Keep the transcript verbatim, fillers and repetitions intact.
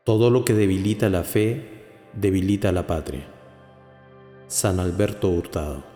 Todo lo que debilita la fe, debilita la patria. San Alberto Hurtado.